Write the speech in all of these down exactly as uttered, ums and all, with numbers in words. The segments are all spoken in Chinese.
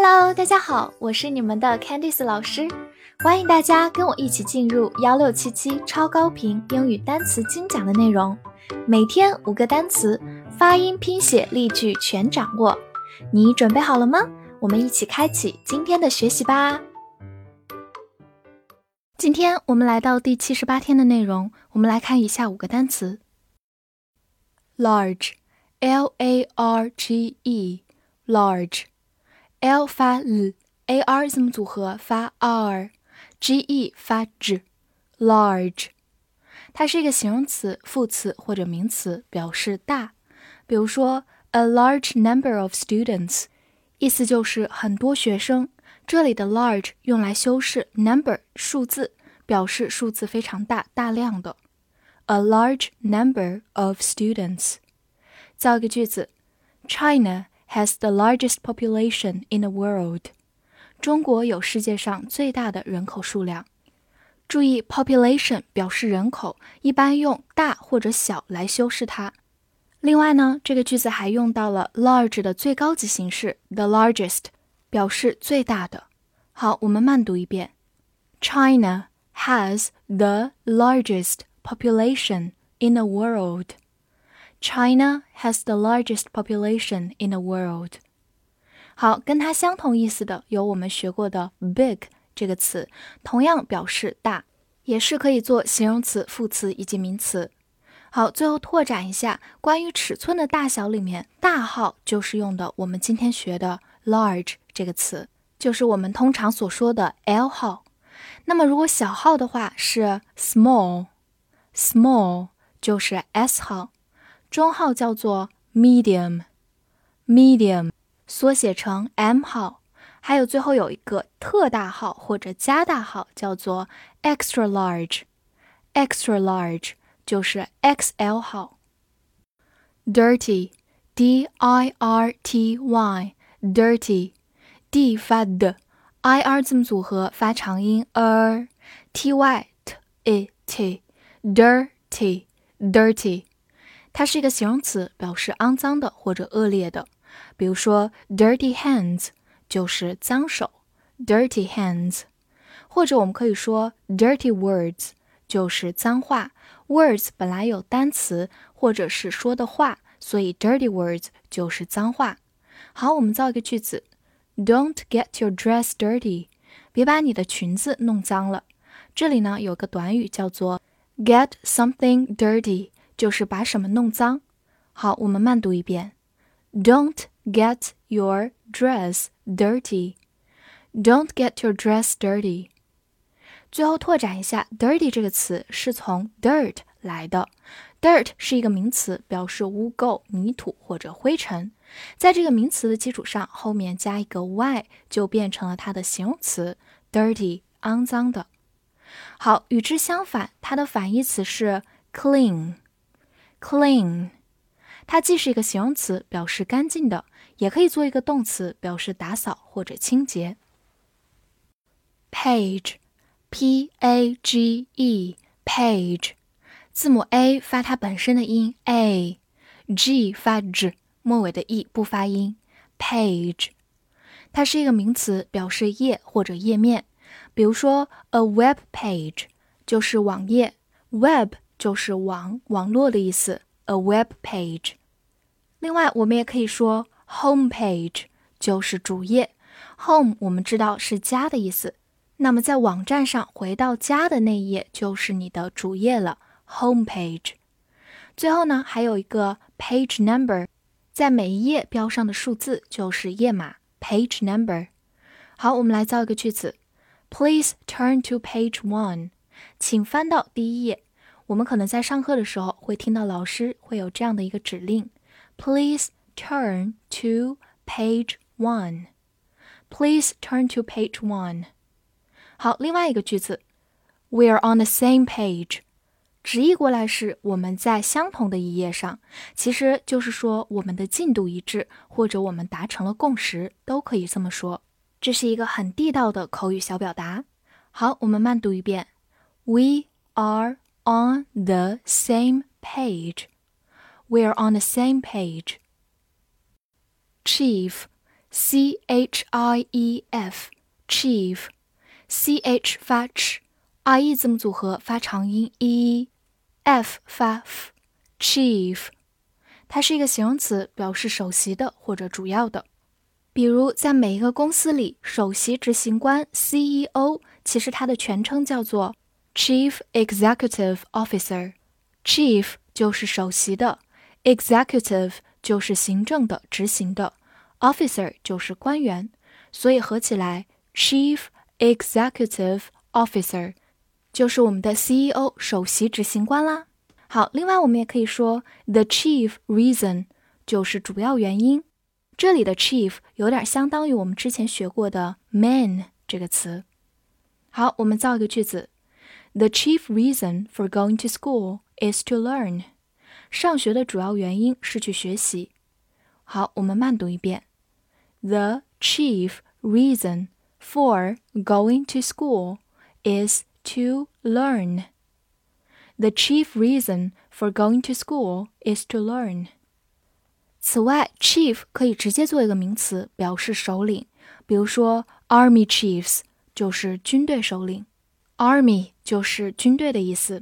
Hello， 大家好，我是你们的 Candice 老师，欢迎大家跟我一起进入一六七七超高频英语单词精讲的内容，每天五个单词，发音、拼写、例句全掌握。你准备好了吗？我们一起开启今天的学习吧。今天我们来到第七十八天的内容，我们来看以下五个单词。Large, L A R G E, large, L 发 L, A R 字母组合发 R, G E 发 G, large. 它是一个形容词、副词或者名词，表示大。比如说 a large number of students, 意思就是很多学生。这里的 large 用来修饰 number 数字，表示数字非常大、大量的。A large number of students. 造一个句子 China has the largest population in the world. 中国有世界上最大的人口数量。注意 population 表示人口，一般用大或者小来修饰它。另外呢，这个句子还用到了 large 的最高级形式 the largest， 表示最大的。好，我们慢读一遍 China has the largest population in the world. China has the largest population in the world. 好，跟它相同意思的有我们学过的 big 这个词，同样表示大，也是可以做形容词、副词以及名词。好，最后拓展一下关于尺寸的大小里面，大号就是用的我们今天学的 large 这个词，就是我们通常所说的 L 号。那么如果小号的话是 small, small 就是 S 号，中号叫做 medium, medium 缩写成 M 号，还有最后有一个特大号或者加大号叫做 extra large, extra large 就是 X L 号。 Dirty, D I R T Y, dirty, D 发 D, I R 字母组合发长音 er, T Y T E T, dirty, dirty。 它是一个形容词，表示肮脏的或者恶劣的。比如说 dirty hands 就是脏手 dirty hands， 或者我们可以说 dirty words 就是脏话。 words 本来有单词或者是说的话，所以 dirty words 就是脏话。好，我们造一个句子 Don't get your dress dirty， 别把你的裙子弄脏了。这里呢有个短语叫做 get something dirty， 就是把什么弄脏。好，我们慢读一遍 Don't get your dress dirty. Don't get your dress dirty. 最后拓展一下 dirty 这个词是从 dirt 来的。 dirt 是一个名词，表示污垢、泥土或者灰尘。在这个名词的基础上，后面加一个 y 就变成了它的形容词 dirty， 肮脏的。好，与之相反，它的反义词是 clean, clean。 它既是一个形容词，表示干净的，也可以做一个动词，表示打扫或者清洁。 Page, P A G E, page， 字母 A 发它本身的音 A， G 发 G， 末尾的 E 不发音 page。 它是一个名词，表示页或者页面。比如说 a web page 就是网页， web 就是网、网络的意思 a web page。 另外我们也可以说 home page 就是主页， home 我们知道是家的意思，那么在网站上回到家的那一页就是你的主页了 home page。 最后呢还有一个 page number， 在每一页标上的数字就是页码 page number。 好，我们来造一个句子 Please turn to page one， 请翻到第一页。我们可能在上课的时候会听到老师会有这样的一个指令 Please turn to page one. Please turn to page one. 好，另外一个句子 We're on the same page， 直译过来是我们在相同的一页上，其实就是说我们的进度一致，或者我们达成了共识，都可以这么说。这是一个很地道的口语小表达。好，我们慢读一遍 We are on the same page. We're on the same page. Chief, C H I E F chief C H 发 ch，I E 字母组合发长音 e，F 发 f chief， 它是一个形容词，表示首席的或者主要的。比如在每一个公司里，首席执行官 C E O 其实它的全称叫做 Chief Executive Officer， Chief 就是首席的， Executive 就是行政的、执行的， Officer 就是官员，所以合起来 Chief Executive Officer 就是我们的 C E O 首席执行官啦。好，另外我们也可以说 The chief reason 就是主要原因，这里的 chief 有点相当于我们之前学过的 man 这个词。好，我们造一个句子 The chief reason for going to school is to learn。 上学的主要原因是去学习。好，我们慢读一遍 The chief reason for going to school is to learn. The chief reason for going to school is to learn. 此外 chief 可以直接做一个名词，表示首领，比如说 army chiefs 就是军队首领， army 就是军队的意思。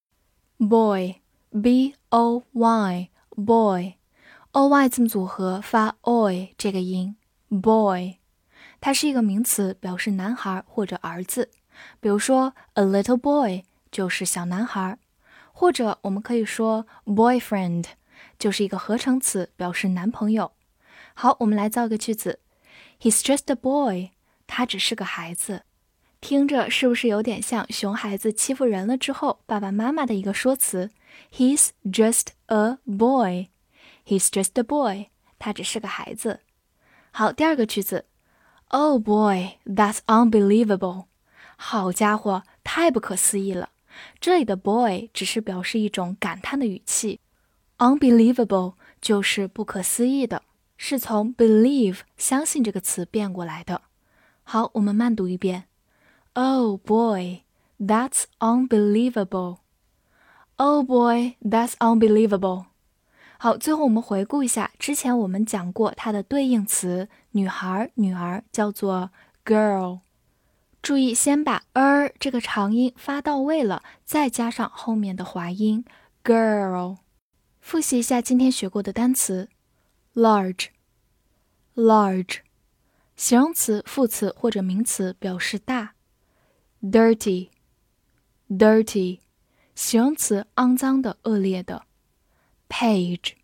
boy B O Y boy O Y 字母组合发 oy 这个音 boy， 它是一个名词，表示男孩或者儿子，比如说 a little boy 就是小男孩，或者我们可以说 boyfriend 就是一个合成词，表示男朋友。好，我们来造个句子 He's just a boy， 他只是个孩子。听着是不是有点像熊孩子欺负人了之后爸爸妈妈的一个说辞 He's just a boy， He's just a boy， 他只是个孩子。好，第二个句子 Oh boy, that's unbelievable， 好家伙，太不可思议了。这里的 boy 只是表示一种感叹的语气， unbelievable 就是不可思议的，是从 believe 相信这个词变过来的。好，我们慢读一遍 Oh boy, that's unbelievable. Oh boy, that's unbelievable. 好，最后我们回顾一下，之前我们讲过它的对应词女孩、女儿叫做 girl。注意先把 er 这个长音发到位了，再加上后面的滑音 girl。 复习一下今天学过的单词 large large 形容词、副词或者名词，表示大。 dirty dirty 形容词，肮脏的、恶劣的。 page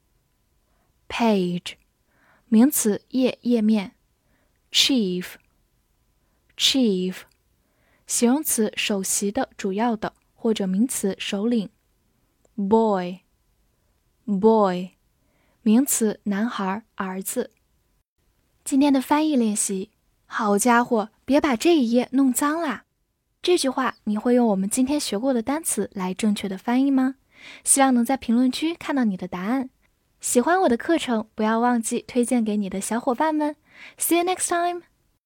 page 名词，页、页面。 chief chief 形容词，首席的、主要的，或者名词，首领。 boy boy 名词，男孩、儿子。今天的翻译练习，好家伙，别把这一页弄脏啦。这句话你会用我们今天学过的单词来正确的翻译吗？希望能在评论区看到你的答案。喜欢我的课程，不要忘记推荐给你的小伙伴们。See you next time!